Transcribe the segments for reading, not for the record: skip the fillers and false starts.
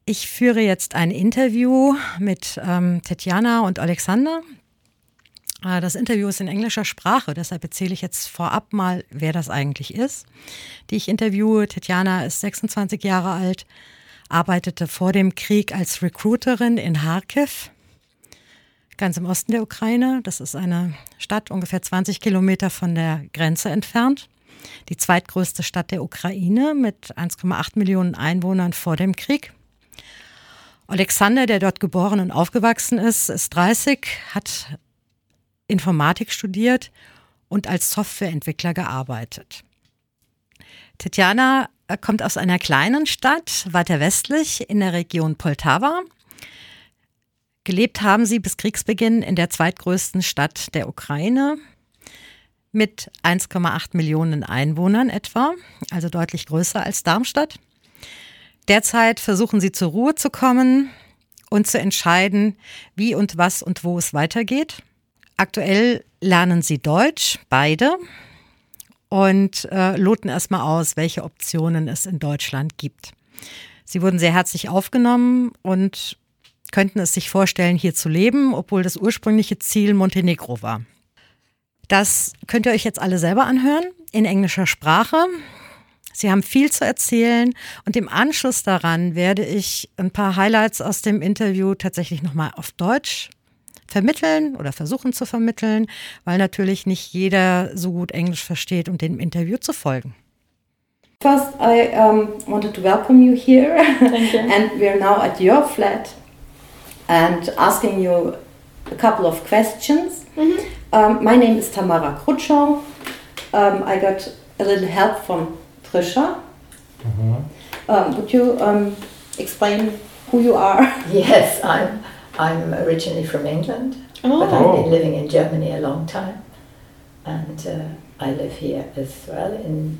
Ich führe jetzt ein Interview mit Tetjana und Alexander. Das Interview ist in englischer Sprache, deshalb erzähle ich jetzt vorab mal, wer das eigentlich ist, die ich interviewe. Tetjana ist 26 Jahre alt, arbeitete vor dem Krieg als Recruiterin in Kharkiv, ganz im Osten der Ukraine. Das ist eine Stadt ungefähr 20 Kilometer von der Grenze entfernt. Die zweitgrößte Stadt der Ukraine mit 1,8 Millionen Einwohnern vor dem Krieg. Alexander, der dort geboren und aufgewachsen ist 30, hat Informatik studiert und als Softwareentwickler gearbeitet. Tetjana kommt aus einer kleinen Stadt, weiter westlich in der Region Poltawa. Gelebt haben sie bis Kriegsbeginn in der zweitgrößten Stadt der Ukraine mit 1,8 Millionen Einwohnern etwa, also deutlich größer als Darmstadt. Derzeit versuchen sie zur Ruhe zu kommen und zu entscheiden, wie und was und wo es weitergeht. Aktuell lernen sie Deutsch, beide, und loten erstmal aus, welche Optionen es in Deutschland gibt. Sie wurden sehr herzlich aufgenommen und könnten es sich vorstellen, hier zu leben, obwohl das ursprüngliche Ziel Montenegro war. Das könnt ihr euch jetzt alle selber anhören, in englischer Sprache. Sie haben viel zu erzählen und im Anschluss daran werde ich ein paar Highlights aus dem Interview tatsächlich nochmal auf Deutsch vermitteln oder versuchen zu vermitteln, weil natürlich nicht jeder so gut Englisch versteht, um dem Interview zu folgen. First, I wanted to welcome you here. Thank you. And we're now at your flat and asking you a couple of questions. My name is Tamara Krutschau. I got a little help from Trisha. Would you explain who you are? Yes, I'm originally from England, but I've been living in Germany a long time, and I live here as well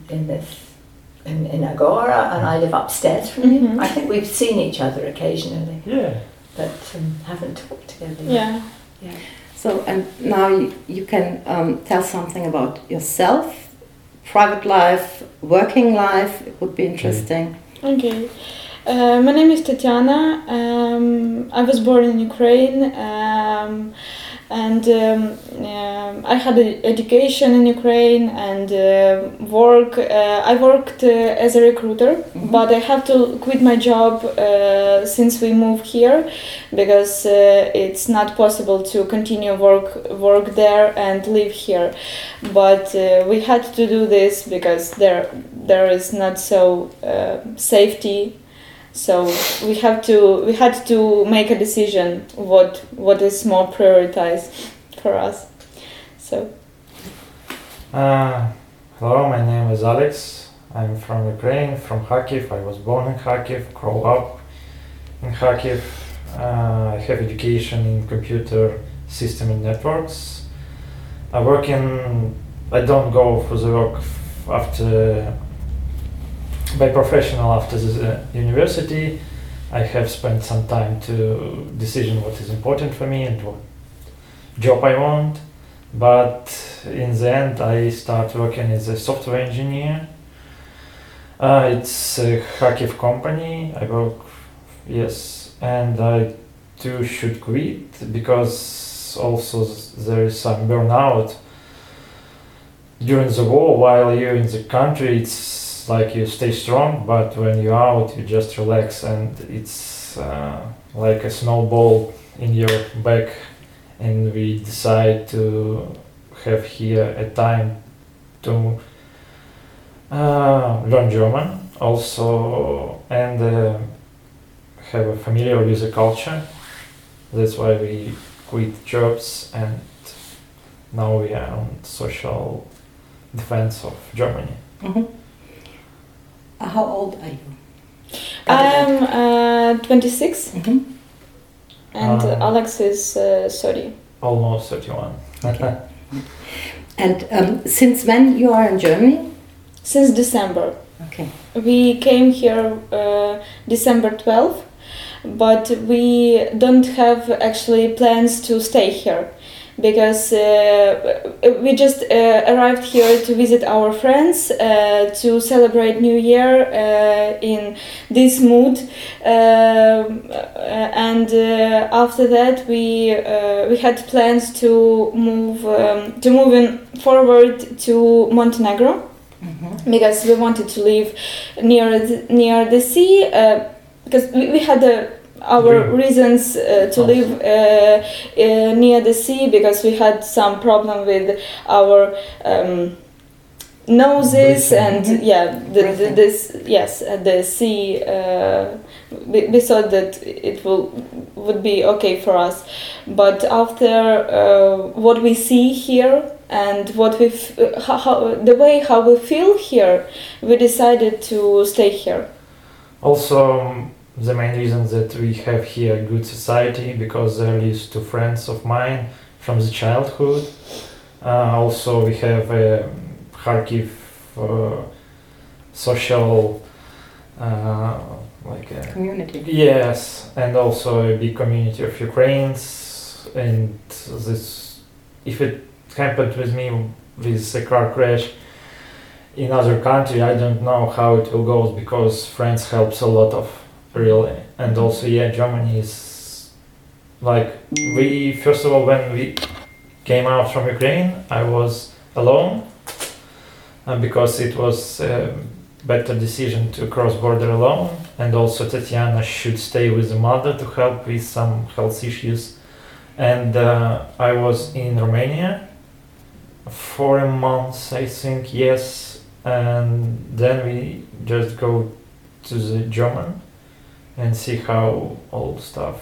in Agora, and I live upstairs from you. I think we've seen each other occasionally, but haven't talked together yet. Yeah. So, and now you can tell something about yourself, private life, working life. It would be interesting. Okay. My name is Tetjana. I was born in Ukraine, and I had an education in Ukraine and work. I worked as a recruiter, but I have to quit my job since we moved here because it's not possible to continue work there and live here. But we had to do this because there is not so safety. So we had to make a decision what is more prioritized for us. So. Hello, my name is Alex. I'm from Ukraine, from Kharkiv. I was born in Kharkiv, grew up in Kharkiv. I have education in computer system and networks. I don't go for the work by professional after the university. I have spent some time to decision what is important for me and what job I want, but in the end I start working as a software engineer. It's a Kharkiv company. I work, and I too should quit because also there is some burnout during the war. While you're in the country, it's like you stay strong, but when you're out, you just relax, and it's like a snowball in your back. And we decide to have here a time to learn German also, and have a familiar with the culture. That's why we quit jobs, and now we are on social defense of Germany. How old are you? I'm 26, and Alex is 30. Almost 31. Okay. And since when you are in Germany? Since December. Okay. We came here December 12th, but we don't have actually plans to stay here because we just arrived here to visit our friends, to celebrate New Year in this mood, and after that we had plans to move in forward to Montenegro. Mm-hmm. Because we wanted to live near the sea, because we had our reasons to live near the sea, because we had some problem with our noses and the sea. We thought that it would be okay for us, but after what we see here and what the way how we feel here, we decided to stay here. Also, the main reason that we have here good society, because there lives two friends of mine from the childhood. Also, we have a Kharkiv social like a community. Yes, and also a big community of Ukrainians. And this, if it happened with me with a car crash in other country, I don't know how it will go, because friends helps a lot of really. And also Germany is like, we first of all, when we came out from Ukraine, I was alone, because it was a better decision to cross border alone, and also Tatiana should stay with the mother to help with some health issues. And I was in Romania for a month, I think, yes, and then we just go to the German and see how all stuff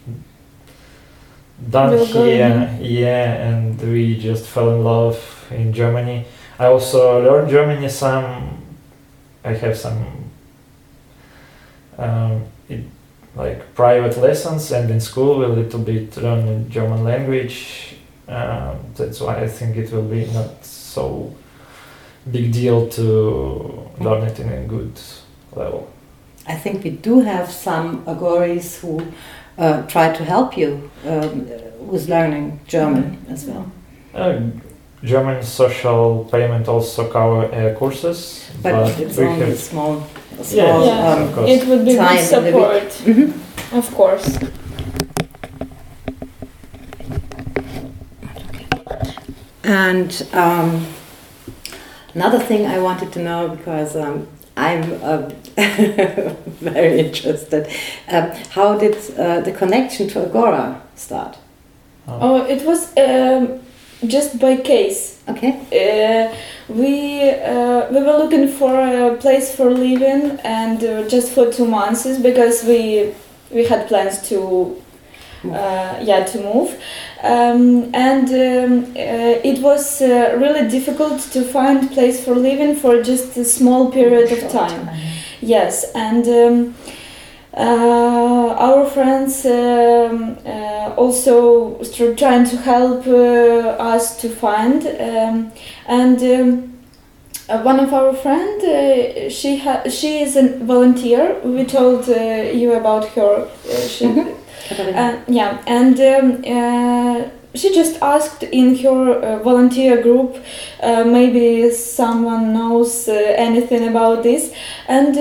done here, and we just fell in love in Germany. I also learned Germany some. I have some like private lessons, and in school we a little bit learn German language. That's why I think it will be not so big deal to learn it in a good level. I think we do have some Agoris who try to help you with learning German as well. German social payment also cover courses, but it's only small it would be good support, mm-hmm. Of course. And another thing I wanted to know, because I'm very interested, how did the connection to Agora start? Oh, it was just by case. Okay. We were looking for a place for living, and just for 2 months, because we had plans to move, and it was really difficult to find place for living for just a small period of time. Yes, and our friends also trying to help us to find, and one of our friends, she is a volunteer. We told you about her. She just asked in her volunteer group, maybe someone knows anything about this, and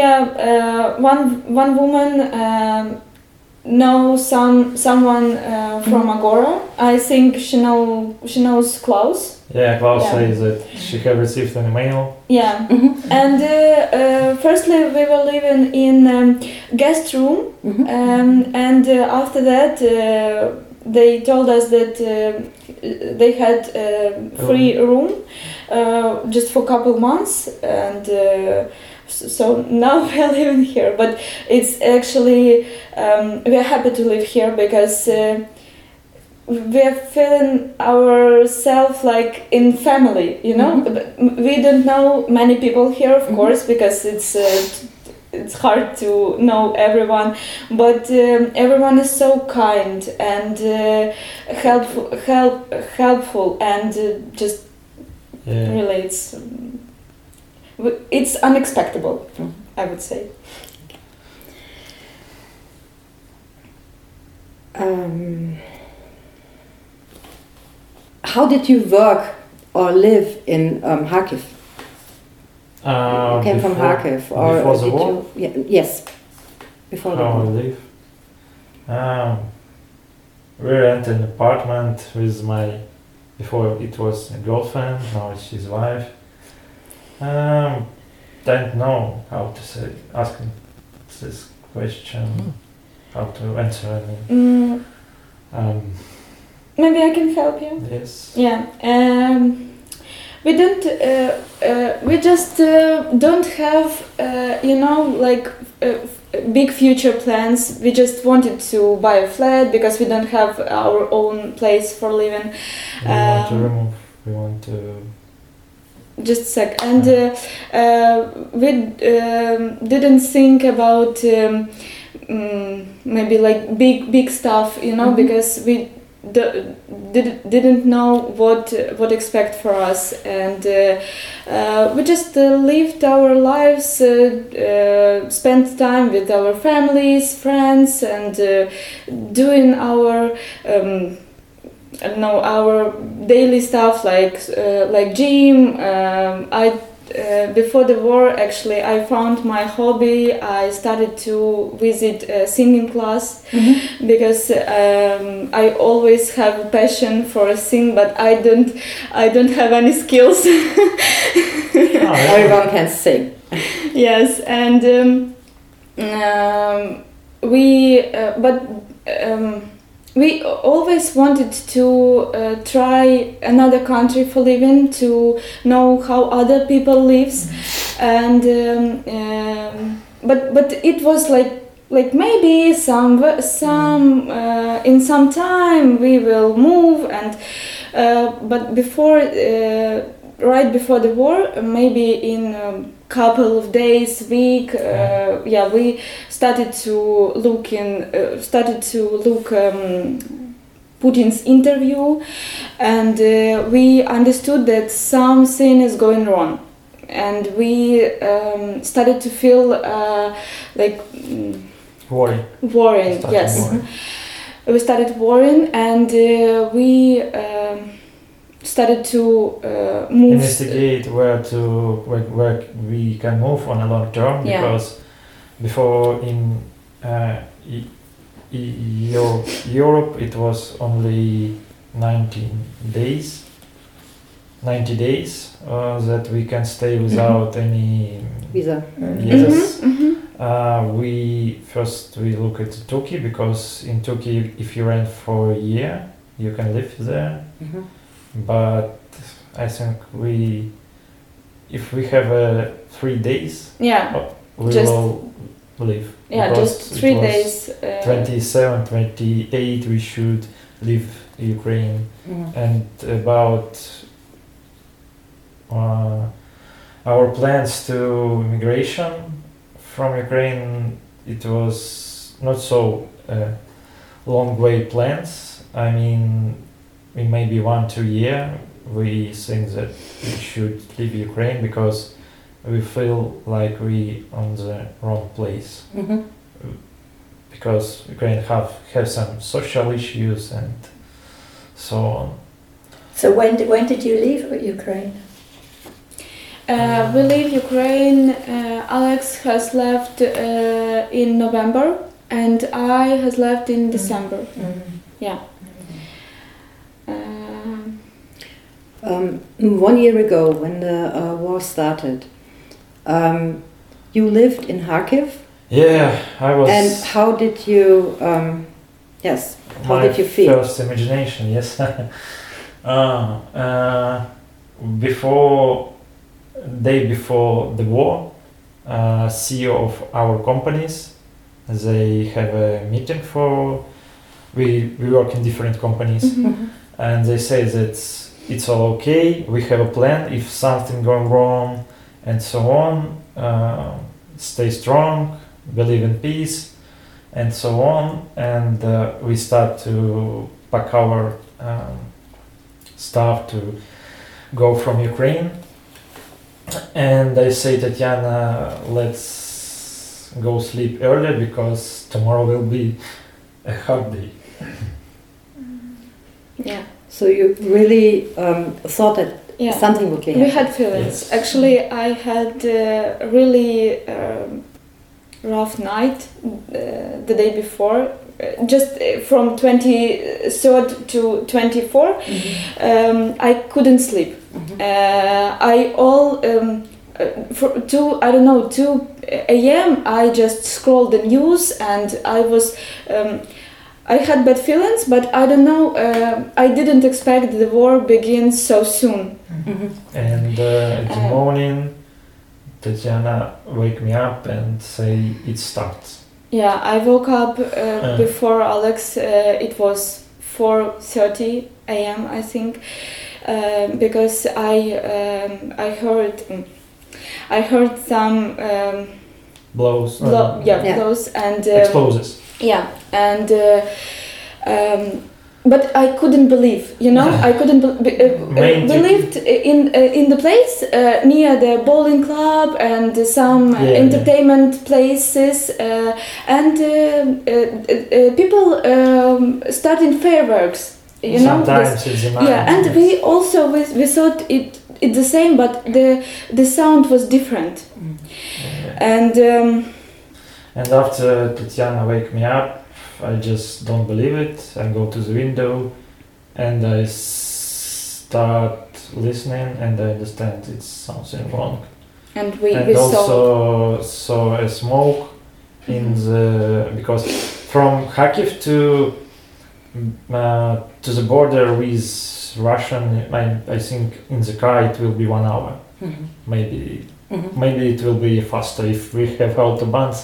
one woman knows someone from Agora. I think she knows Klaus. Yeah, Klaus says that she had received an email. Yeah, and firstly we were living in guest room, and after that they told us that they had free room just for a couple months, and so now we are living here. But it's actually we are happy to live here, because we are feeling ourselves like in family, you know. We don't know many people here, of course, because it's hard to know everyone, but everyone is so kind and helpful, and just really it's unexpected, I would say. how did you work or live in Kharkiv? You came from Kharkiv, or before the did war? you? Yeah, yes, before the How I war. live? We rent an apartment with my. Before it was a girlfriend, now she's wife. Don't know how to say asking this question, how to answer. I mean, Maybe I can help you. yes. Yeah. We don't. We just don't have, big future plans. We just wanted to buy a flat because we don't have our own place for living. We want to. Just a sec. And we didn't think about maybe like big stuff, because we didn't know what expect for us, and we just lived our lives, spent time with our families, friends, and doing our our daily stuff like gym. Before the war, actually, I found my hobby. I started to visit a singing class because I always have a passion for sing, but I don't have any skills. Everyone can sing. Yes, and we always wanted to try another country for living, to know how other people lives, and but it was like maybe in some time we will move, and but before right before the war, maybe in couple of days, week, we started to look Putin's interview, and we understood that something is going wrong, and we started to feel worrying. Yes, we started worrying, and we started to move. Investigate where we can move on a long term, because before in Europe it was only 90 days that we can stay without any visa. Yes. We look at Turkey, because in Turkey if you rent for a year you can live there. But I think if we have 3 days, we will leave. Yeah, just 3 days. 27, 28, we should leave Ukraine. And about our plans to migration from Ukraine, it was not so long way plans. I mean, in maybe 1-2 years, we think that we should leave Ukraine, because we feel like we on the wrong place. Because Ukraine have some social issues and so on. So when did you leave Ukraine? We leave Ukraine. Alex has left in November, and I has left in December. Yeah. 1 year ago, when the war started, you lived in Kharkiv. Yeah, I was. And how did you? How did you feel? First imagination, yes. Day before the war, CEO of our companies, they have a meeting for. We work in different companies, and they say that it's all okay. We have a plan if something going wrong, and so on. Stay strong, believe in peace, and so on. And we start to pack our stuff to go from Ukraine. And I say, Tatiana, let's go sleep early, because tomorrow will be a hard day. Yeah. So you really thought that something would be happening. We had feelings. Yes. Actually, I had a really rough night the day before. Just from 23rd to 24, I couldn't sleep. I all 2 a.m. I just scrolled the news and I was. I had bad feelings, but I don't know. I didn't expect the war begins so soon. And in the morning, Tatiana wake me up and say it starts. Yeah, I woke up before Alex. It was 4:30 a.m. I think, because I heard some Blows. blows and Explosives. yeah, and but I couldn't believe. I couldn't believed in the place near the bowling club and some entertainment places and people starting fireworks. Sometimes it's the night. Yeah, and we also we thought it's the same, but the sound was different. And after Tatiana wake me up, I just don't believe it. I go to the window and I start listening and I understand it's something wrong. And we also saw a smoke in the, because from Kharkiv to the border with Russian, I think in the car it will be 1 hour. Maybe it will be faster if we have autobahns.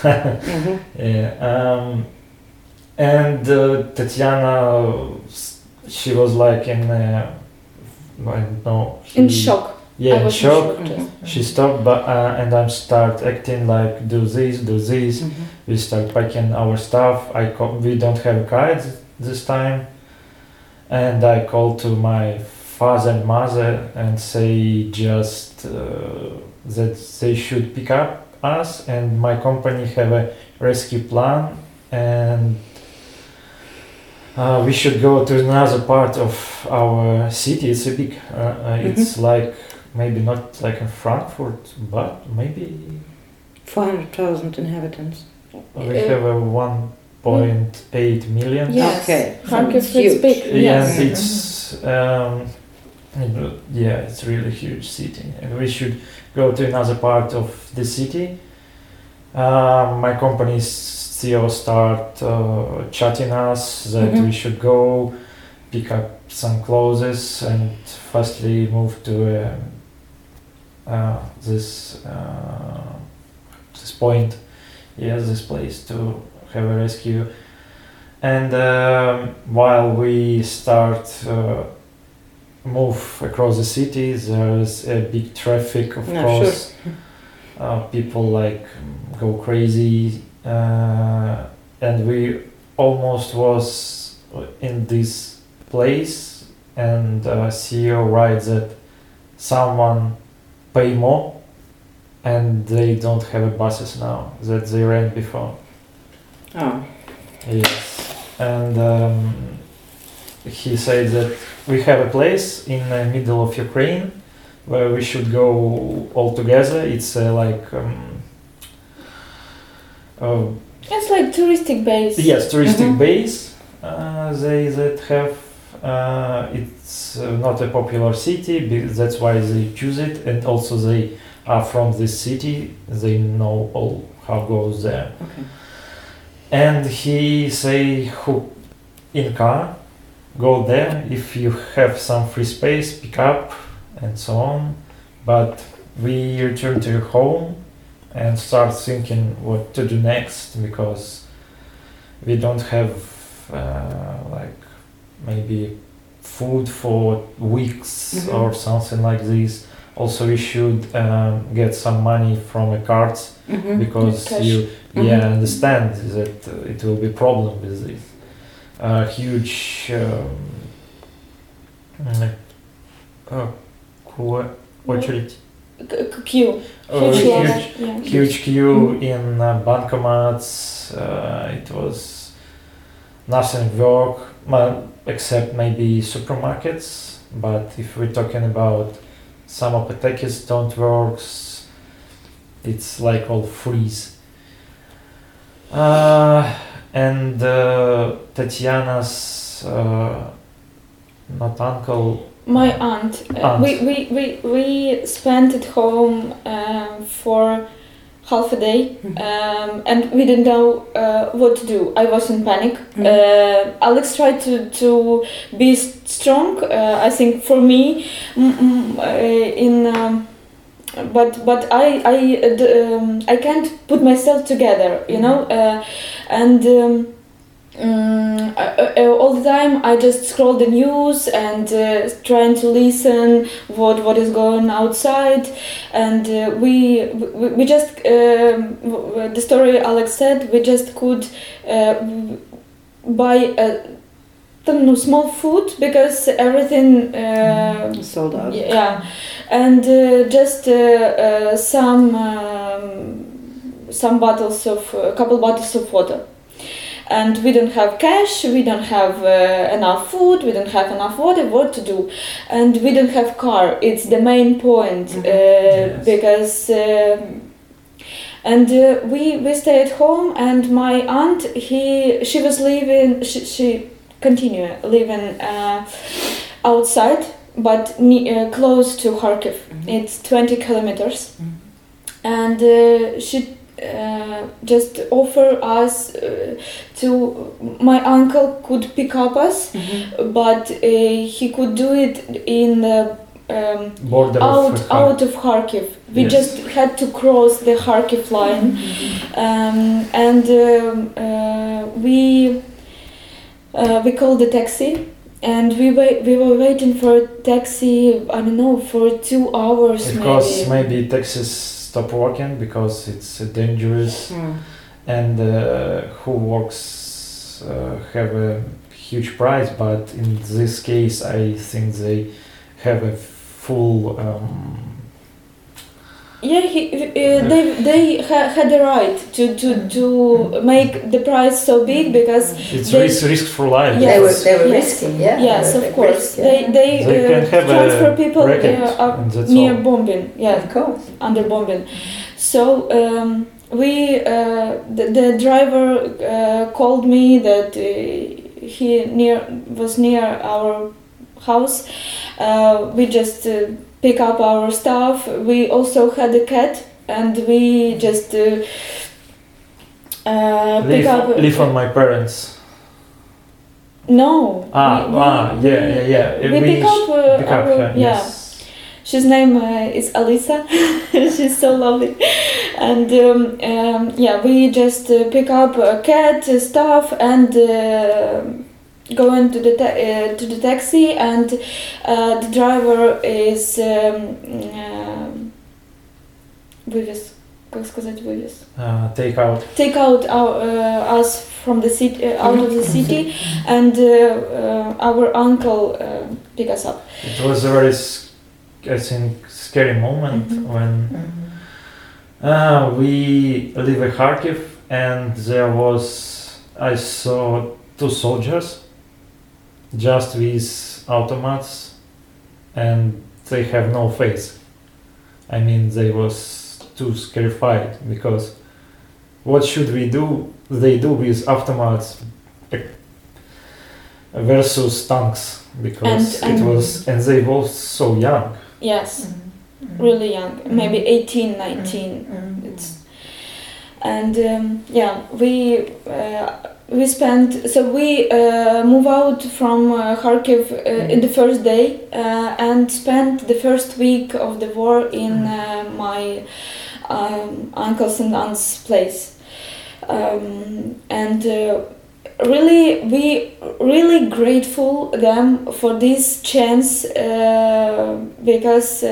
And Tatiana, she was like in, I don't know. In shock. Yeah, in shock. Yes. She stopped, but and I start acting like do this. We start packing our stuff. We don't have a car this time, and I called to my father and mother and say just that they should pick up us, and my company have a rescue plan, and we should go to another part of our city. It's a big, it's like maybe not like in Frankfurt, but maybe 400,000 inhabitants. we have a 1.8 million. Yes. Okay. Kharkiv Huge. is big. Yes. And it's it's really huge city, and we should go to another part of the city. My company's CEO start chatting us that we should go pick up some clothes and firstly move to this point, this place to have a rescue. And while we start move across the city, there's a big traffic, of course. Sure. People like go crazy, and we almost was in this place, and CEO writes that someone pay more, and they don't have buses now that they ran before. Oh. Yes, and he said that we have a place in the middle of Ukraine where we should go all together. It's it's like touristic base. Yes, touristic base. They that have. It's not a popular city. That's why they choose it, and also they are from this city. They know all how goes there. Okay. And he say who in car go there if you have some free space, pick up and so on. But we return to home and start thinking what to do next, because we don't have maybe food for weeks or something like this. Also we should get some money from a card, because you understand that it will be problem with this huge очередь. Queue. Huge queue in bankomats. It was nothing work, except maybe supermarkets. But if we're talking about some apotheques don't work, it's like all freeze. And Tatiana's not uncle. My aunt. We spent at home for half a day, and we didn't know what to do. I was in panic. Alex tried to be strong. I think for me, but I can't put myself together, you know, and. All the time I just scroll the news and trying to listen what is going outside, and we just the story Alex said, we just could buy small food because everything sold out. Yeah, and just some bottles of a couple bottles of water. And we don't have cash, we don't have enough food, we don't have enough water, what to do? And we don't have car, it's the main point, Yes. because we stay at home, and my aunt, she was living, she continue living outside, but close to Kharkiv. It's 20 kilometers. And she just offer us my uncle could pick up us, but he could do it in the Border out of Kharkiv. We Yes. just had to cross the Kharkiv line, and we called the taxi. And we were waiting for a taxi, I don't know, for 2 hours Because maybe taxis stop working because it's dangerous, and who works have a huge price. But in this case, I think they have a full. They had the right to make the price so big because It's they- risk for life. Yes. They were Yes. risking, yeah. yes, they were of course, risk, yeah. they They can have transfer a people racket, up and that's near all. bombing, yeah, Of course. under bombing. So the driver called me that he was near our house. We just pick up our stuff. We also had a cat, and we just pick up. Live on my parents. No. Yeah. We pick up. Pick up our, her, yeah. yes. She's name is Alisa. She's so lovely, and we just pick up cat stuff and go into the to the taxi, and the driver is вывез. Как сказать вывез? Take out. Us from the city, out of the city, and our uncle pick us up. It was a very, I think, scary moment when we live in Kharkiv, and I saw 2 soldiers just with automats, and they have no face. I mean, they was too scarified because what should we do? They do with automats versus tanks, because and they were so young. Yes, really young, maybe 18, 19. And we spent, so we move out from Kharkiv in the first day and spent the first week of the war in my uncle's and aunt's place. We really grateful them for this chance because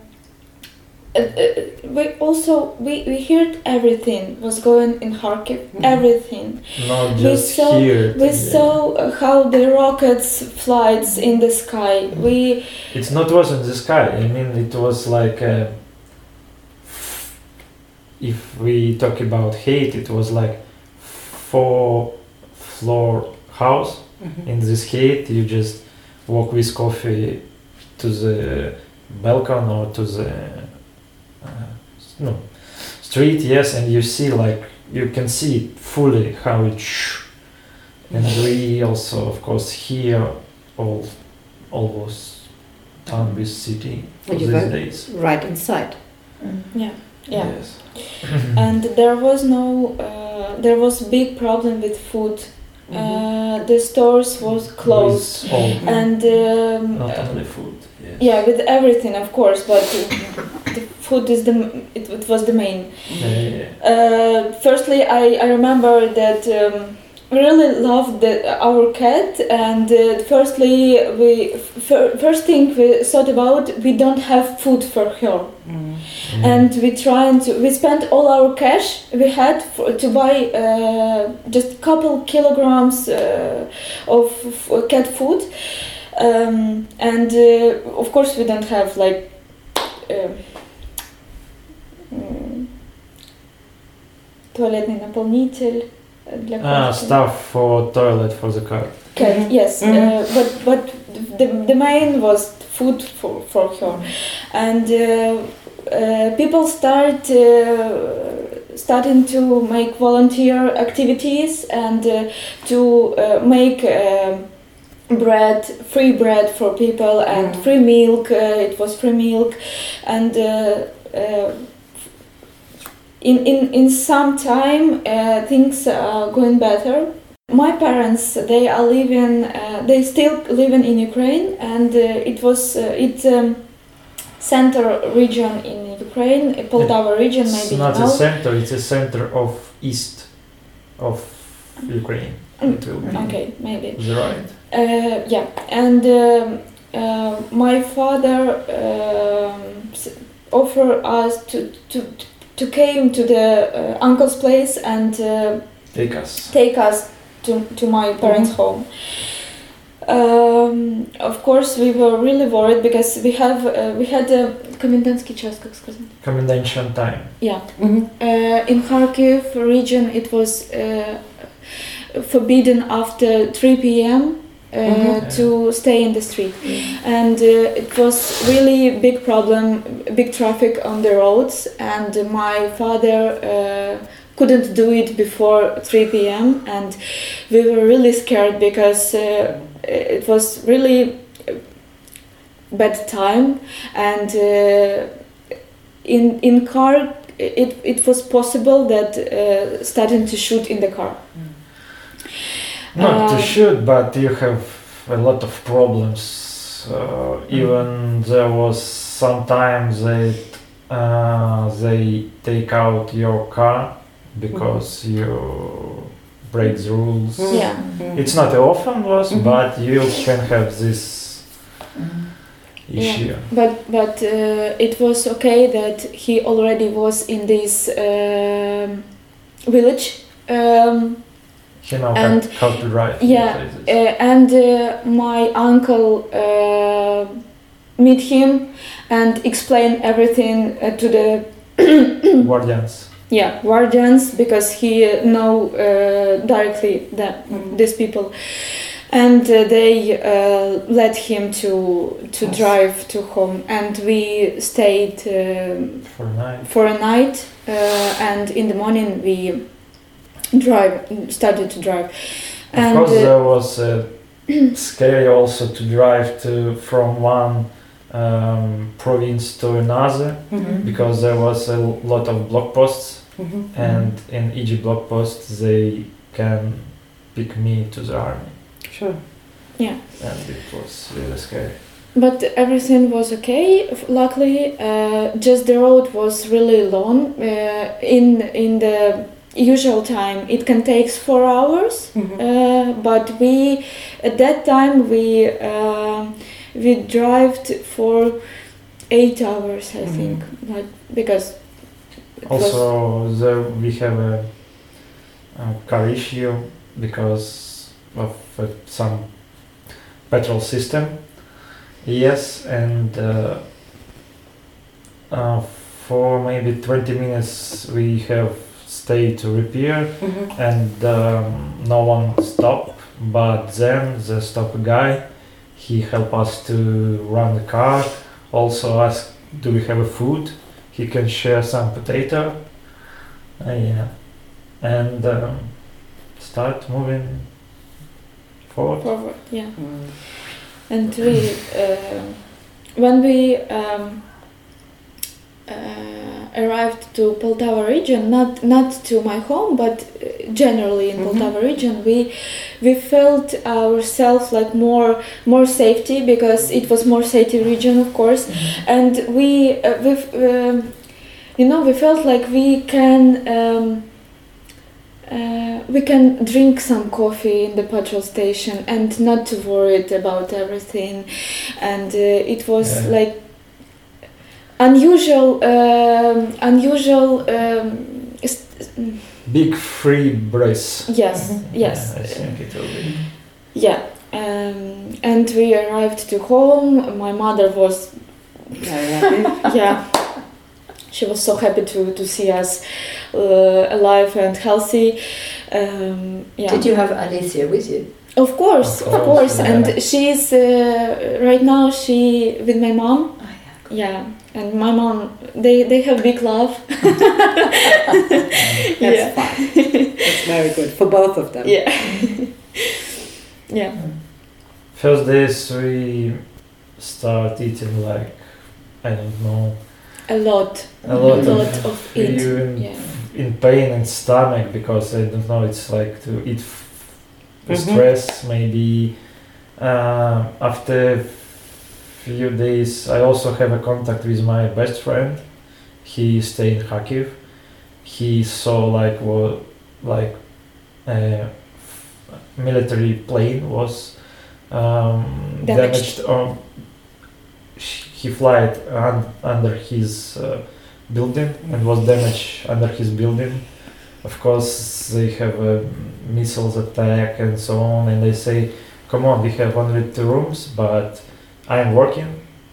we heard everything was going in Kharkiv, everything. Not just here. We saw how the rockets flies in the sky. It wasn't the sky. I mean, it was like if we talk about hate, it was like 4-floor house. In this heat, you just walk with coffee to the balcony or to the street, yes, and you see, like, you can see fully how it and we also, of course, here almost done with city these days. Right inside. Yeah. Yes. And there was big problem with food. The stores was closed, and not only food. Yes. Yeah, with everything, of course, but the food is it was the main. Firstly, I remember that really loved our cat, and first thing we thought about, we don't have food for her. And we spent all our cash we had to buy just a couple kilograms of cat food, and of course we don't have like туалетный наполнитель для кошки. Stuff for toilet for the cat. Yes, but the main was food for her, and people starting to make volunteer activities and to make free bread for people and free milk. It was free milk, and in some time things are going better. My parents, they are living, they still living in Ukraine, and it's center region in Ukraine, Poltava region, maybe. It's not a center; it's a center of east of Ukraine. It will be. Okay, maybe. Right. Yeah, and my father offered us to came to the uncle's place and take us to my parents' home. Of course, we were really worried because we had a комендантский час, как сказать? Commendation time. Yeah. In Kharkiv region, it was forbidden after 3 p.m. To stay in the street, and it was really big problem, big traffic on the roads, and my father couldn't do it before 3 p.m. and we were really scared because it was really bad time, and in car it was possible that starting to shoot in the car. Not to shoot, but you have a lot of problems. Even there was sometimes they take out your car because you break the rules. Yeah. It's not often was, but you can have this issue. Yeah. But it was okay that he already was in this village. He know how to drive. Yeah, and my uncle meet him and explain everything to the guardians. Yeah, guardians, because he know directly these people, and they let him to drive to home, and we stayed for a night, and in the morning we started to drive. And of course, there was scary also to drive from one province to another, because there was a lot of block posts, and in each block post they can pick me to the army. Sure. Yeah. And it was really scary. But everything was okay, luckily. Just the road was really long. In the usual time it can take 4 hours, but at that time we drive for 8 hours, I think, because also there we have a car issue because of some petrol system. Yes, and for maybe 20 minutes we have stay to repair, and no one stopped, but then the stop guy, he helped us to run the car, also asked do we have a food, he can share some potato, yeah, and start moving forward. Yeah. And we, when we arrived to Poltava region, not to my home, but generally in Poltava region, we felt ourselves like more safety, because it was more safety region, of course, and we felt like we can drink some coffee in the petrol station and not to worried about everything, and it was like unusual big free breath. Yes. I think it will be. Yeah, and we arrived to home. My mother was Very happy. yeah, she was so happy to see us alive and healthy. Yeah. Did you have Alicia with you? Of course. Yeah. And she's right now she with my mom. Oh, Yeah, and my mom, they have big love. That's fine. That's very good for both of them. Yeah. Yeah. First days we start eating like, I don't know, A lot of it. you Yeah. in pain and stomach, because I don't know, it's like to eat stress maybe. After few days I also have a contact with my best friend. He stay in Kharkiv. He saw like military plane was damaged. He flied under his building and was damaged under his building. Of course they have missiles attack and so on, and they say, come on, we have only 2 rooms, but I'm working,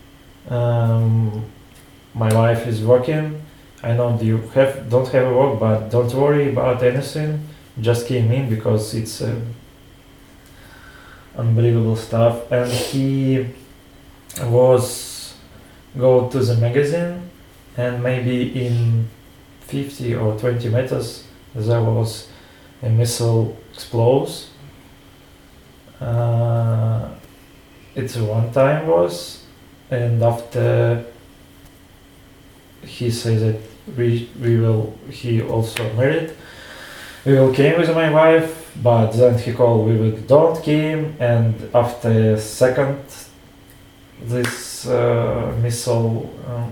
my wife is working, I know you don't have a work, but don't worry about anything, just came in because it's unbelievable stuff. And he was go to the magazine, and maybe in 50 or 20 meters there was a missile explodes. It's one time was, and after he says that he also married, we will came with my wife, but then he called we don't came, and after second this missile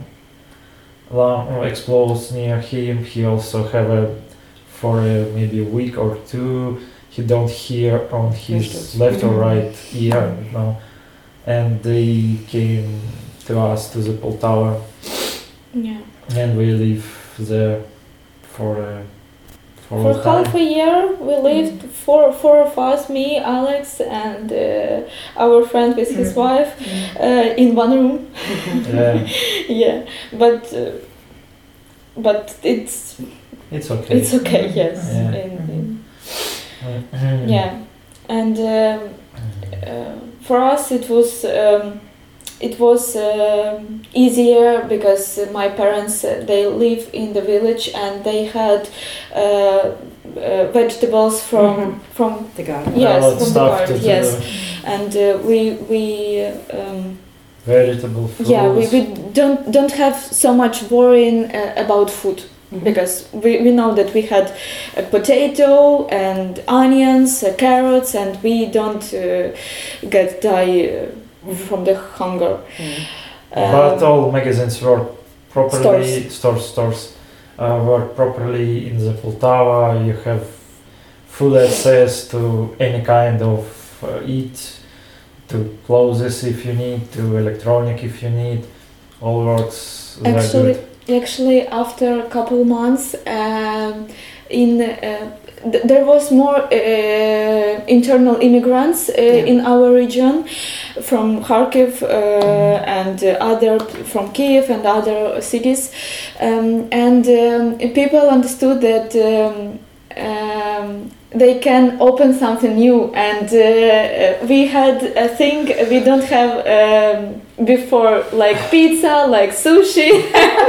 explodes near him, he also have for maybe a week or 2 he don't hear on his left or right ear, and they came to us to the Poltava, and we live there for half a year. We lived four of us, me, Alex, and our friend with his wife, in one room. Yeah, but it's okay. It's okay. Yes. Yeah, and for us it was easier because my parents they live in the village and they had vegetables from the garden. Yes, from the garden. Yes, and we vegetable fruits. Yeah, we don't have so much worrying about food. Because we know that we had a potato and onions, carrots, and we don't die from the hunger. But all magazines were properly stores were properly in the Poltava. You have full access to any kind of eat, to clothes if you need, to electronic if you need. All works very good. Actually, after a couple months, there was more internal immigrants in our region from Kharkiv and other from Kiev and other cities, and people understood that they can open something new, and we had a thing we don't have before, like pizza, like sushi.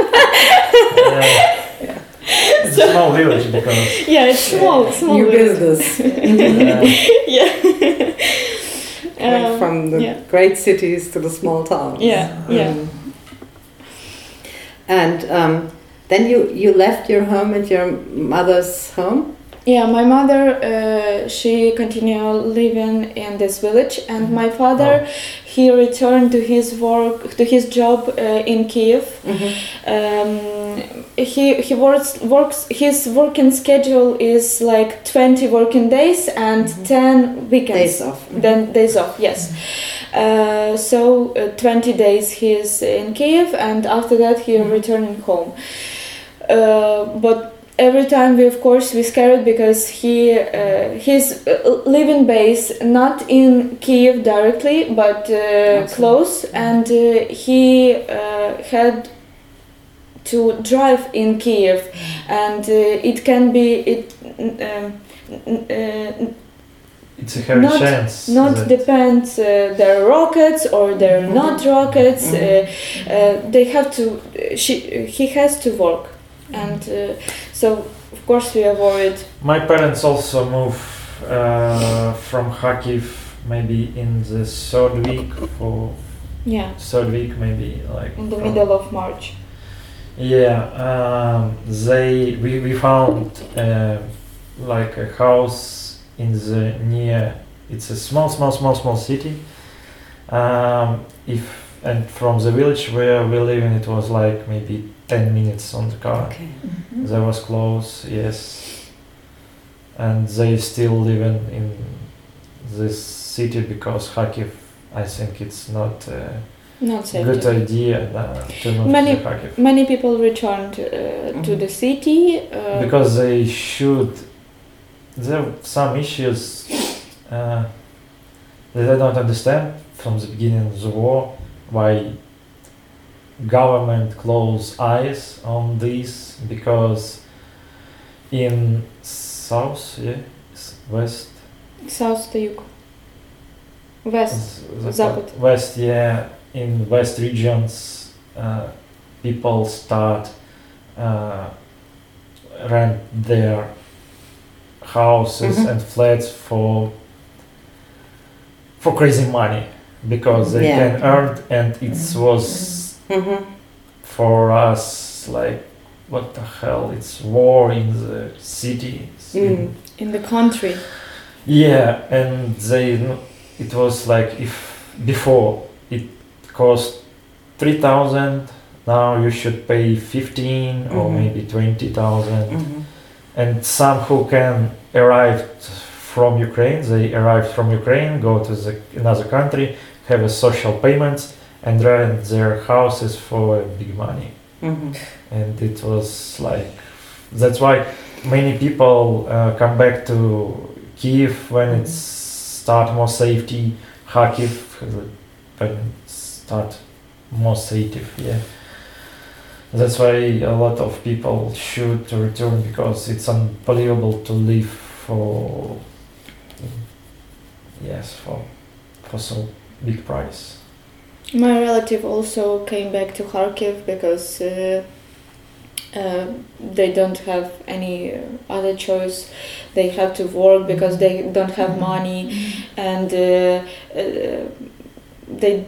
It's a small village because yeah, it's small New village. business. Yeah. Going from the great cities to the small towns. Yeah. And then you left your home and your mother's home? Yeah, my mother, she continued living in this village, and my father, he returned to his job in Kiev. He works. His working schedule is like 20 working days and 10 weekends. Days off. Then days off. Yes. So 20 days he's in Kiev, and after that he returning home. But every time we scared because his living base not in Kiev directly, but close, and he had to drive in Kiev, and it can be it's a heavy chance. Not depends their rockets or they're not rockets. They have to. He has to work, and so of course we are worried. My parents also moved from Kharkiv maybe in the third week maybe like in the middle of March. Yeah, we found like a house in the near. It's a small city. And from the village where we live in, it was like maybe 10 minutes on the car. Okay. They was close, yes. And they still living in this city because Kharkiv, I think it's not safe. Good idea to move to Kharkiv. Many people returned to the city because they should. There are some issues that I don't understand from the beginning of the war, why government close eyes on this, because in south, west, south to юг, west, запад, west, in west regions, people start rent their houses and flats for crazy money because they can earn, and it was for us like, what the hell, it's war in the city, in the country. And it was like, if before it cost 3,000, now you should pay 15 or maybe 20,000. And some who can arrive from Ukraine, they arrived from Ukraine, go to another country, have a social payments, and rent their houses for big money. And it was like, that's why many people come back to Kiev when it's start more safety, Kharkiv when it start more safe, That's why a lot of people should return, because it's unbelievable to live for so big price. My relative also came back to Kharkiv because they don't have any other choice. They have to work because they don't have money, and they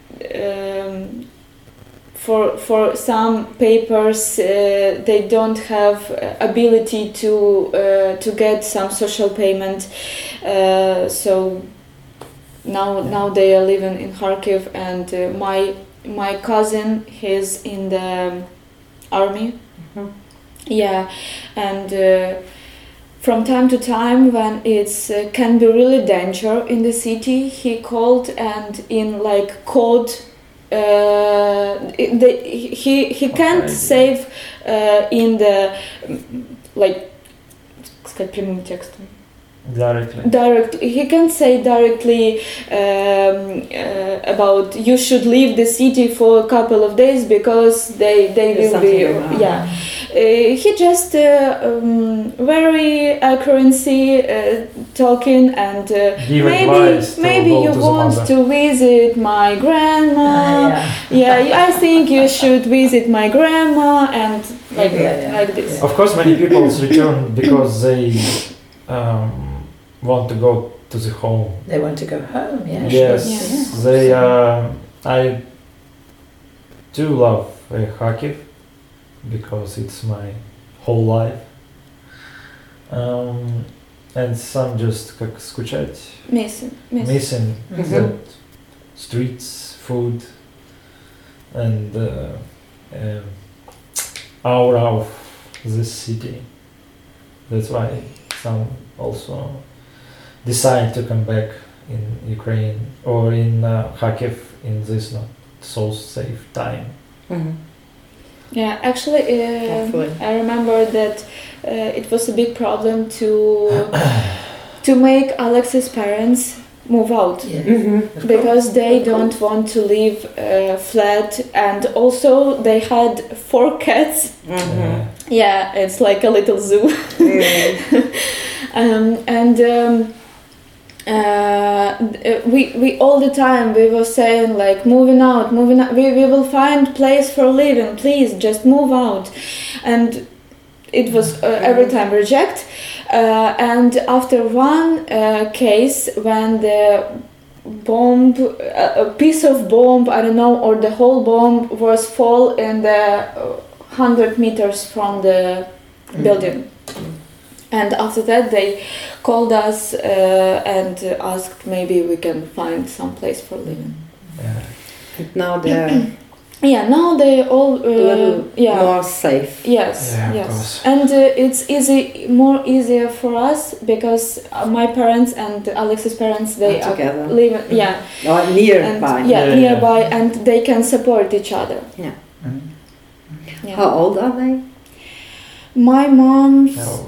for some papers they don't have ability to get some social payment, so now they are living in Kharkiv, and my cousin, he's in the army. And from time to time, when it's can be really danger in the city, he called, and in like code he can't save in the like сказать прямым текстом. Directly, he can say directly about you should leave the city for a couple of days because they will be he just very accuracy talking and Give advice to maybe go you to the want mother. to visit my grandma. Yeah, I think you should visit my grandma and like this. Of course, many people return because they want to go to the home. They want to go home, yeah. Yes, Yeah. they. I do love Kharkiv because it's my whole life. And some just как скучать, missing the streets, food, and aura of this city. That's why some also decide to come back in Ukraine or in Kharkiv in this not so safe time. Yeah, actually, I remember that it was a big problem to make Alex's parents move out because they don't want to live flat, and also they had 4 cats. Yeah, it's like a little zoo. We all the time we were saying like moving out. We will find place for living. Please, just move out, and it was every time reject. And after one case, when the bomb, a piece of bomb, I don't know, or the whole bomb was fall in the 100 meters from the building. And after that, they called us and asked maybe we can find some place for living. And now they're now they all a little more safe. Yes, Yeah, of yes, course. and it's easier for us because my parents and Alex's parents they Are together. live Or nearby. and, nearby, and they can support each other. Yeah. How old are they? My mom's No.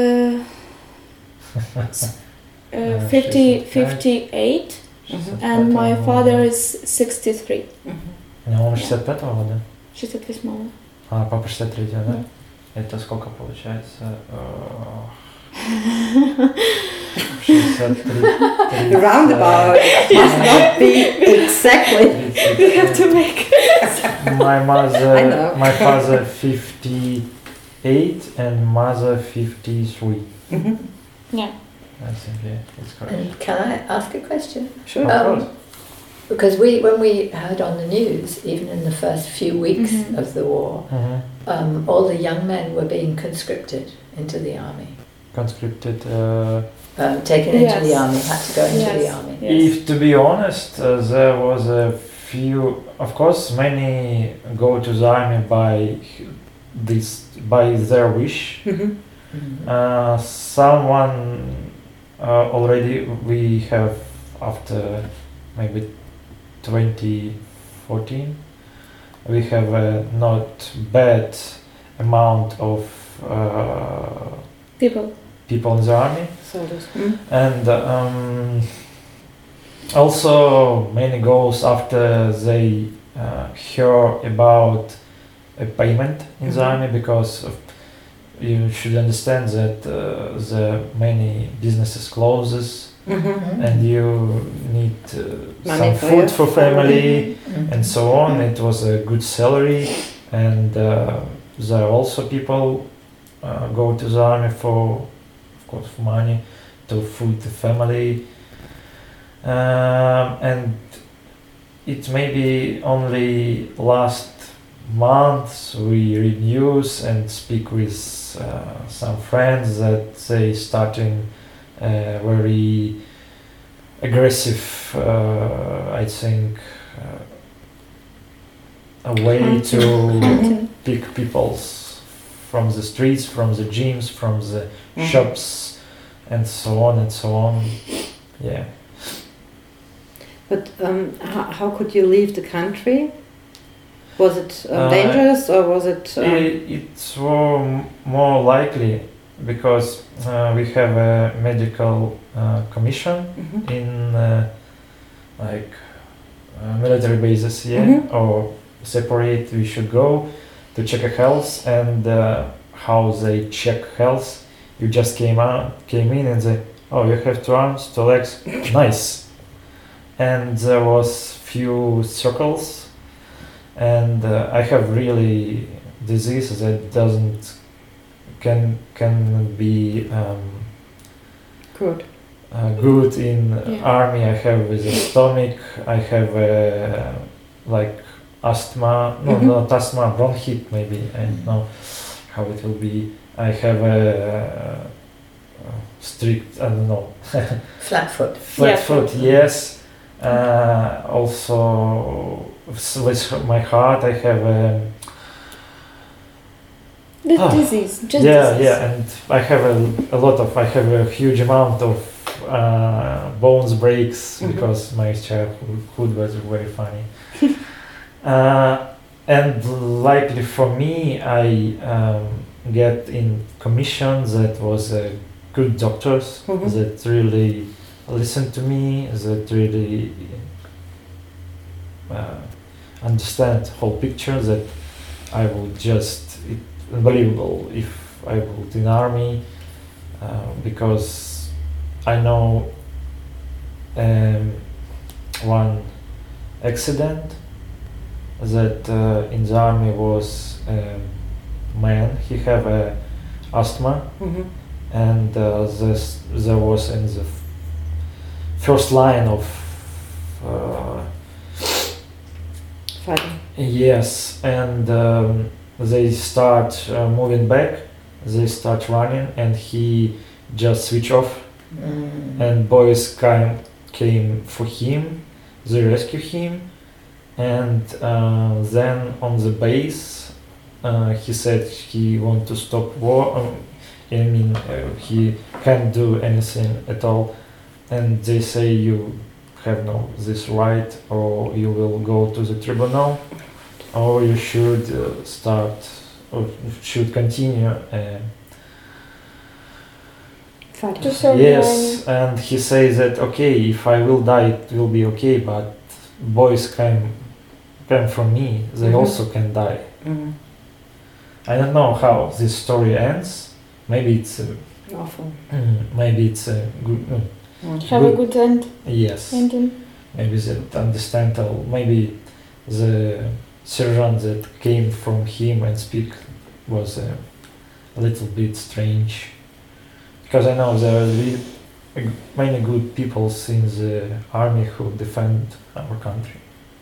58 and my father is 63. У него 65-го года. 68. А папа 63-го, да? Это сколько получается? 63. Roundabout. Must not be exactly. We have to make My I mother, know. my father 58 and mother 53. Yeah. I think it's correct. And can I ask a question? Sure. Of course. Because when we heard on the news, even in the first few weeks of the war, all the young men were being conscripted into the army. Conscripted. Taken into the army, had to go into the army. If to be honest, there was a few. Of course, many go to the army by their wish. Someone already we have after maybe 2014. We have a not bad amount of People in the army. Soldiers. And also many goes after they hear about a payment in the army, because you should understand that the many businesses closes and you need some food for family and so on. It was a good salary, and there are also people go to the army for money to feed the family, and it may be only last month we read news and speak with some friends that they starting very aggressive, I think, a way to pick people from the streets, from the gyms, from the shops, and so on and so on. Yeah. But how could you leave the country? Was it dangerous, or was it? It's more likely because we have a medical commission in military bases, or separate we should go, to check a health, and how they check health. You just came in and say, oh, you have 2 arms, 2 legs, nice. And there was few circles, and I have really disease that can be Good. good in Yeah. army. I have with the stomach. I have like asthma. No, Mhm. not asthma. Bronchit maybe. I don't know how it will be. I have a strict. I don't know. Flat foot. Flat Yeah. foot. Yes. Also with my heart, I have. This Ah. disease, just Yeah, disease. yeah, and I have I have a huge amount of bones breaks Mhm. because my childhood was very funny. And likely for me, I get in commission that was good doctors Mhm. that really listened to me, that really understand whole picture, that I would just unbelievable if I would in army, because I know one accident that in the army was man. He have asthma, Mhm. and there was in the first line of Fighting. yes, and they start moving back, they start running, and he just switch off, and boys came for him, they rescue him, and then on the base he said he want to stop war. I mean, he can't do anything at all, and they say you have no this right, or you will go to the tribunal, or you should start or should continue. Fighting. To serve Yes, and he says that okay, if I will die, it will be okay, but boys came from me, they Mhm. also can die. Mhm. I don't know how this story ends. Maybe it's Awful. maybe it's a good. Have a good end. Yes. Ending. Maybe they understand, or maybe the sergeant that came from him and speak was a little bit strange, because I know there are many good people in the army who defend our country.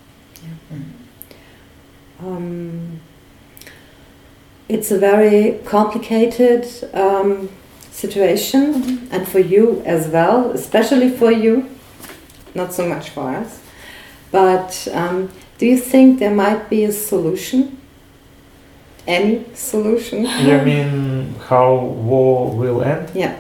It's a very complicated situation, and for you as well, especially for you, not so much for us. But do you think there might be a solution? Any solution? You mean how war will end? Yeah.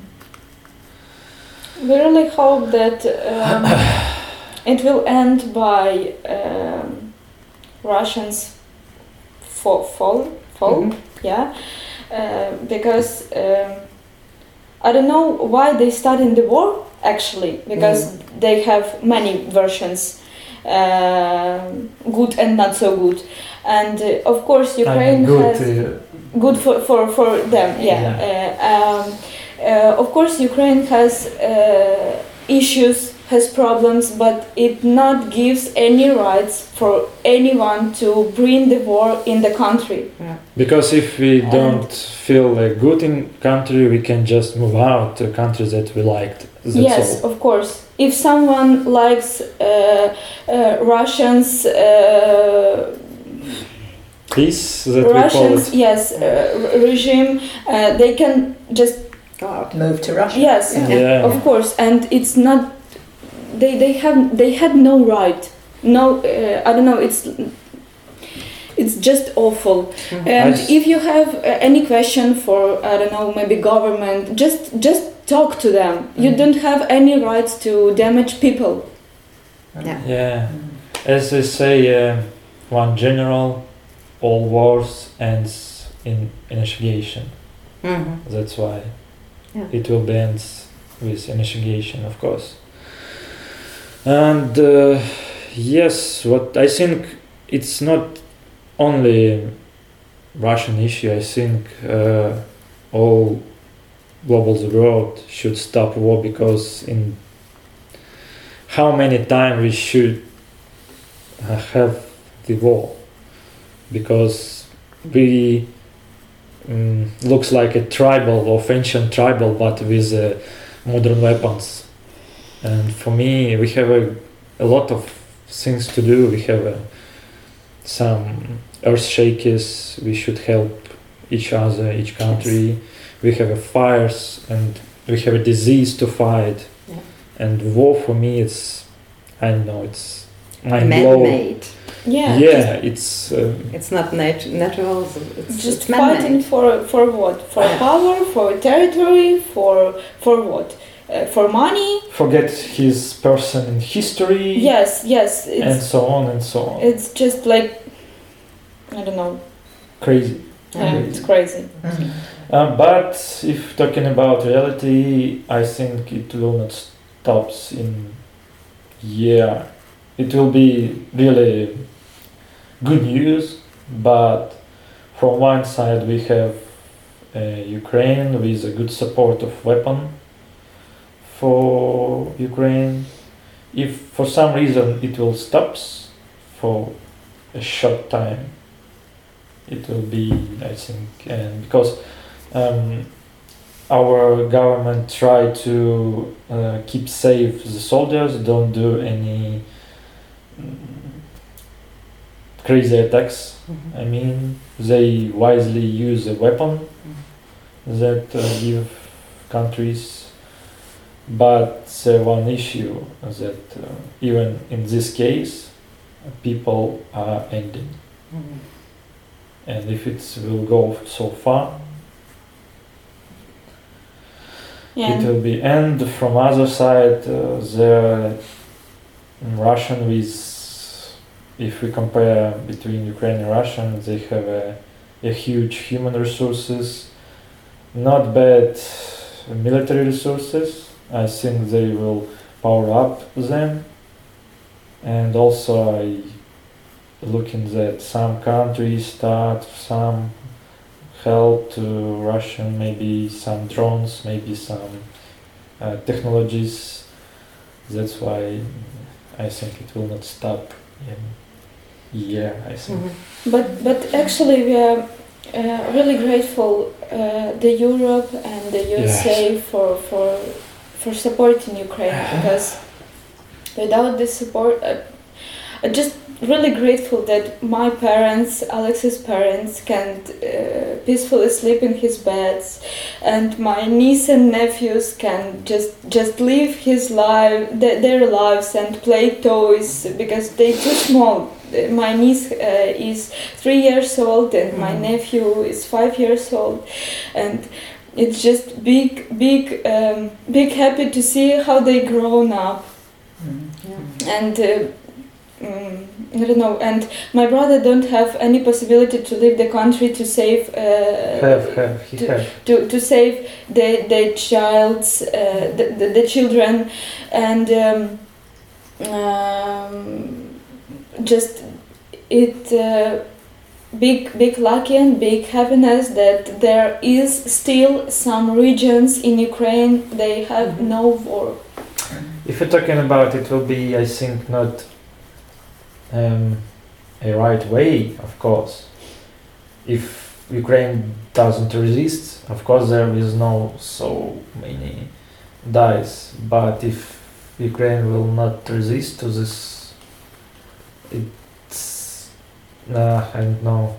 We really hope that it will end by Russians fall. Mhm. Yeah, because I don't know why they started the war actually, because they have many versions, good and not so good, and of course Ukraine good. has good for them. Of course Ukraine has issues, has problems, but it not gives any rights for anyone to bring the war in the country. Because if we don't feel good in country, we can just move out to countries that we liked. That's Yes, all. of course. If someone likes Russians, Peace that we call Russians, it. yes, regime, they can just Go out. Move to Russia. yes, Yeah. of course, and it's not. They had no right. No, I don't know. It's just awful. And if you have any question for I don't know, maybe government, just talk to them. You don't have any rights to damage people. Yeah. As they say, one general, all wars ends in initiation. Mhm. That's why Yeah. it will be ends with initiation, of course. And yes, what I think it's not only Russian issue, I think all global world should stop war, because in how many times we should have the war, because we looks like a tribal of ancient tribal, but with modern weapons. And for me, we have a lot of things to do. We have some earth shakers. We should help each other, each country. Yes. We have fires, and we have a disease to fight. Yeah. And war for me, it's, I don't know, it's man-made. Yeah, it's not natural. It's just fighting for what? For power, for territory, for what? For money. Forget his person in history. Yes, and so on and so on. It's just like, I don't know. Crazy. Yeah, it's crazy. Mm-hmm. But if talking about reality, I think it will not stop in. Yeah, it will be really good news, but from one side we have Ukraine with a good support of weapon for Ukraine. If for some reason it will stop for a short time, it will be, I think, and because our government try to keep safe the soldiers, don't do any crazy attacks. Mm-hmm. I mean, they wisely use a weapon that give countries, but one issue that even in this case, people are ending. Mm-hmm. And if it will go so far, it will be. And from other side, the Russian with, if we compare between Ukraine and Russia, they have a huge human resources, not bad military resources. I think they will power up them. And also I looking that some countries start some help to Russian, maybe some drones, maybe some technologies. That's why I think it will not stop in year, I think. Mm-hmm. But actually we are really grateful the Europe and the USA for supporting Ukraine, because without this support, I'm just really grateful that my parents, Alex's parents, can peacefully sleep in his beds, and my niece and nephews can just live their lives and play toys, because they're too small. My niece is 3 years old and my nephew is 5 years old, and it's just big happy to see how they grown up. And I don't know, and my brother don't have any possibility to leave the country to save to save the child's the children, and just it big lucky and big happiness that there is still some regions in Ukraine they have no war. If you're talking about it, will be, I think, not a right way, of course. If Ukraine doesn't resist, of course there is no so many dies, but if Ukraine will not resist to this, it's I don't know.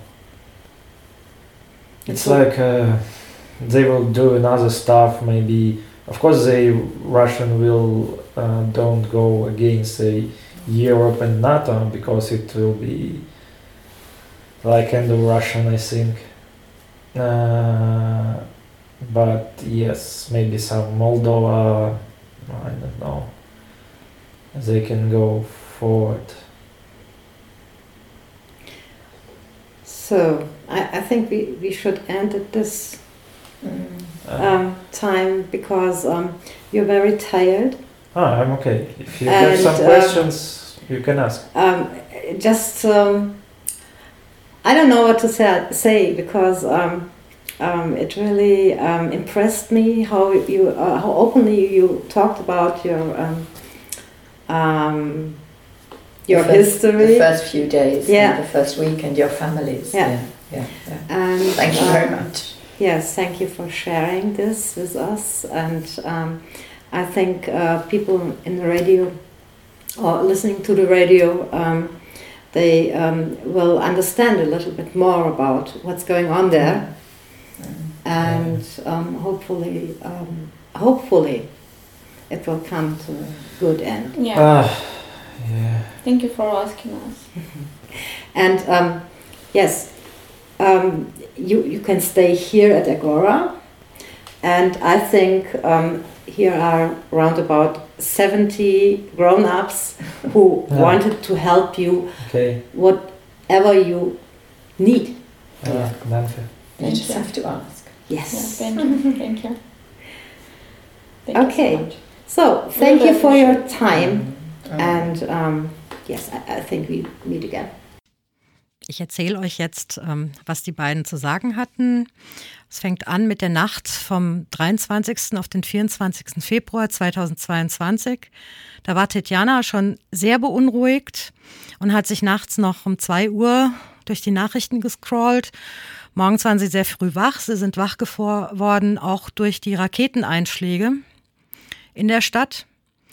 It's like they will do another stuff, maybe. Of course Russian will don't go against Europe and NATO, because it will be like end of Russian, I think. But yes, maybe some Moldova, I don't know, they can go forward. So I think we should end at this time, because you're very tired. I'm okay. If you have some questions, you can ask. Just I don't know what to say because it really impressed me how openly you talked about your history. The first few days, yeah. The first week, and your families. Yeah. And thank you very much. Yes, thank you for sharing this with us. And I think people in the radio or listening to the radio, they will understand a little bit more about what's going on there. And hopefully it will come to a good end. Yeah. Yeah. Thank you for asking us. And yes, you can stay here at Agora, and I think here are around about 70 grown-ups who wanted to help you, whatever you need. Danke. You just have to ask. Yes. Yeah, thank you. Thank you. Thank Okay. you so much. So thank you for your appreciate time, and yes, I think we meet again. Ich erzähle euch jetzt, was die beiden zu sagen hatten. Es fängt an mit der Nacht vom 23. auf den 24. Februar 2022. Da war Tetjana schon sehr beunruhigt und hat sich nachts noch um 2 Uhr durch die Nachrichten gescrollt. Morgens waren sie sehr früh wach. Sie sind wach geworden, auch durch die Raketeneinschläge in der Stadt,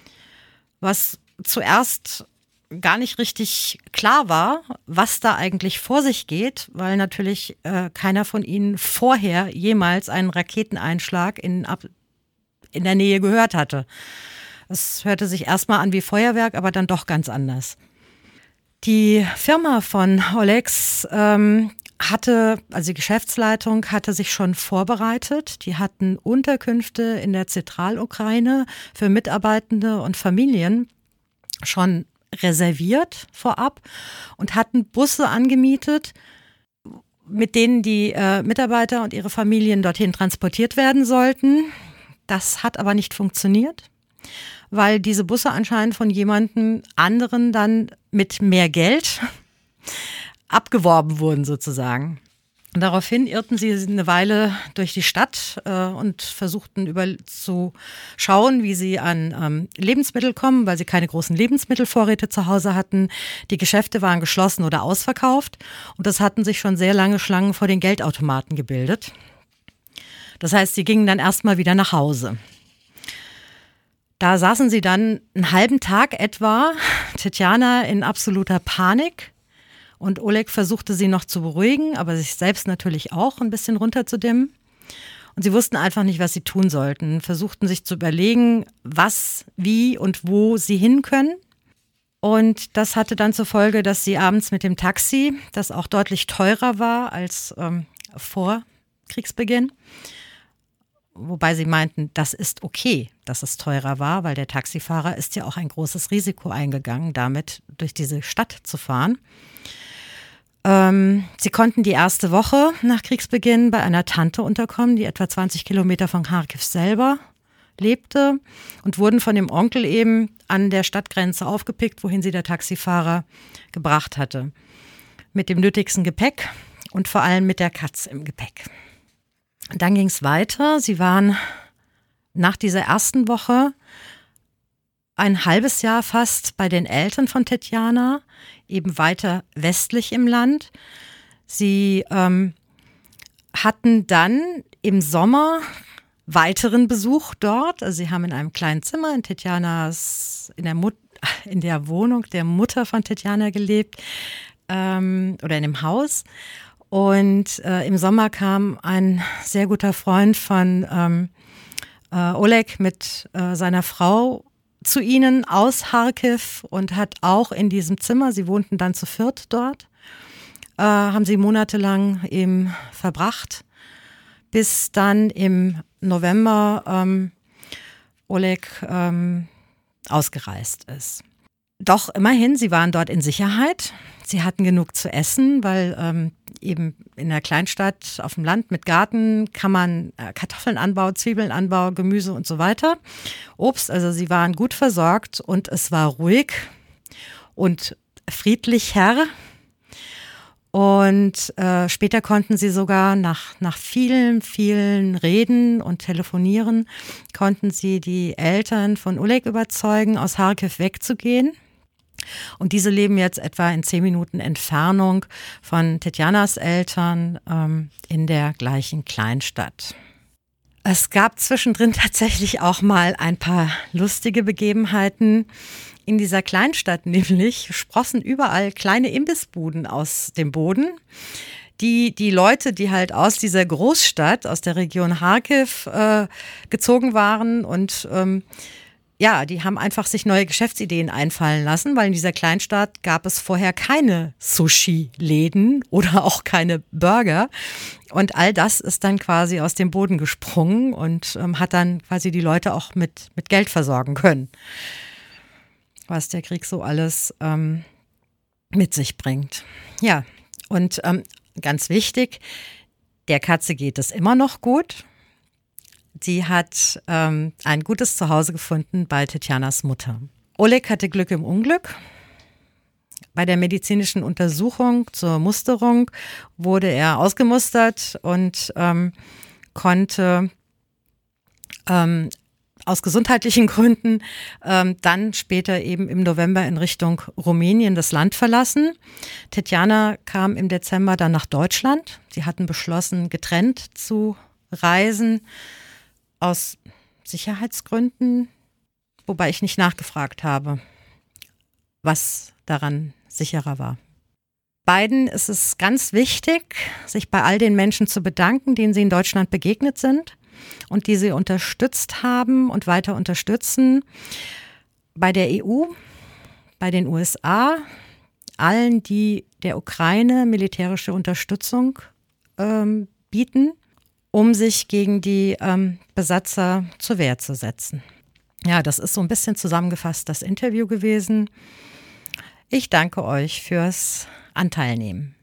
was zuerst gar nicht richtig klar war, was da eigentlich vor sich geht, weil natürlich keiner von ihnen vorher jemals einen Raketeneinschlag in der Nähe gehört hatte. Es hörte sich erstmal an wie Feuerwerk, aber dann doch ganz anders. Die Firma von Olegs also die Geschäftsleitung hatte sich schon vorbereitet. Die hatten Unterkünfte in der Zentralukraine für Mitarbeitende und Familien schon reserviert vorab und hatten Busse angemietet, mit denen die Mitarbeiter und ihre Familien dorthin transportiert werden sollten. Das hat aber nicht funktioniert, weil diese Busse anscheinend von jemandem anderen dann mit mehr Geld abgeworben wurden sozusagen. Und daraufhin irrten sie eine Weile durch die Stadt und versuchten zu schauen, wie sie an Lebensmittel kommen, weil sie keine großen Lebensmittelvorräte zu Hause hatten. Die Geschäfte waren geschlossen oder ausverkauft und es hatten sich schon sehr lange Schlangen vor den Geldautomaten gebildet. Das heißt, sie gingen dann erstmal wieder nach Hause. Da saßen sie dann einen halben Tag etwa, Tetjana in absoluter Panik. Und Oleg versuchte sie noch zu beruhigen, aber sich selbst natürlich auch ein bisschen runterzudimmen. Und sie wussten einfach nicht, was sie tun sollten, versuchten sich zu überlegen, was, wie und wo sie hin können. Und das hatte dann zur Folge, dass sie abends mit dem Taxi, das auch deutlich teurer war als vor Kriegsbeginn, wobei sie meinten, das ist okay, dass es teurer war, weil der Taxifahrer ist ja auch ein großes Risiko eingegangen, damit durch diese Stadt zu fahren. Sie konnten die erste Woche nach Kriegsbeginn bei einer Tante unterkommen, die etwa 20 Kilometer von Kharkiv selber lebte und wurden von dem Onkel eben an der Stadtgrenze aufgepickt, wohin sie der Taxifahrer gebracht hatte. Mit dem nötigsten Gepäck und vor allem mit der Katze im Gepäck. Dann ging es weiter. Sie waren nach dieser ersten Woche ein halbes Jahr fast bei den Eltern von Tetjana, eben weiter westlich im Land. Sie hatten dann im Sommer weiteren Besuch dort. Also sie haben in einem kleinen Zimmer in Tetjanas, in der Wohnung der Mutter von Tetjana gelebt oder in dem Haus. Und im Sommer kam ein sehr guter Freund von Oleg mit seiner Frau zu ihnen aus Kharkiv und hat auch in diesem Zimmer, sie wohnten dann zu viert dort, haben sie monatelang eben verbracht, bis dann im November Oleg ausgereist ist. Doch immerhin, sie waren dort in Sicherheit. Sie hatten genug zu essen, weil eben in der Kleinstadt auf dem Land mit Garten kann man Kartoffeln anbauen, Zwiebeln anbauen, Gemüse und so weiter. Obst, also sie waren gut versorgt und es war ruhig und friedlich Herr. Und später konnten sie sogar nach vielen, vielen Reden und Telefonieren, konnten sie die Eltern von Oleg überzeugen, aus Charkiw wegzugehen. Und diese leben jetzt etwa in 10 Minuten Entfernung von Tetjanas Eltern in der gleichen Kleinstadt. Es gab zwischendrin tatsächlich auch mal ein paar lustige Begebenheiten. In dieser Kleinstadt nämlich sprossen überall kleine Imbissbuden aus dem Boden. Die Leute, die halt aus dieser Großstadt, aus der Region Charkiw gezogen waren und die haben einfach sich neue Geschäftsideen einfallen lassen, weil in dieser Kleinstadt gab es vorher keine Sushi-Läden oder auch keine Burger. Und all das ist dann quasi aus dem Boden gesprungen und hat dann quasi die Leute auch mit Geld versorgen können, was der Krieg so alles mit sich bringt. Ja, und ganz wichtig, der Katze geht es immer noch gut. Sie hat ein gutes Zuhause gefunden bei Tetjanas Mutter. Oleg hatte Glück im Unglück. Bei der medizinischen Untersuchung zur Musterung wurde er ausgemustert und konnte aus gesundheitlichen Gründen dann später eben im November in Richtung Rumänien das Land verlassen. Tetjana kam im Dezember dann nach Deutschland. Sie hatten beschlossen, getrennt zu reisen, aus Sicherheitsgründen, wobei ich nicht nachgefragt habe, was daran sicherer war. Beiden ist es ganz wichtig, sich bei all den Menschen zu bedanken, denen sie in Deutschland begegnet sind und die sie unterstützt haben und weiter unterstützen. Bei der EU, bei den USA, allen, die der Ukraine militärische Unterstützung bieten, um sich gegen die Besatzer zur Wehr zu setzen. Ja, das ist so ein bisschen zusammengefasst das Interview gewesen. Ich danke euch fürs Anteilnehmen.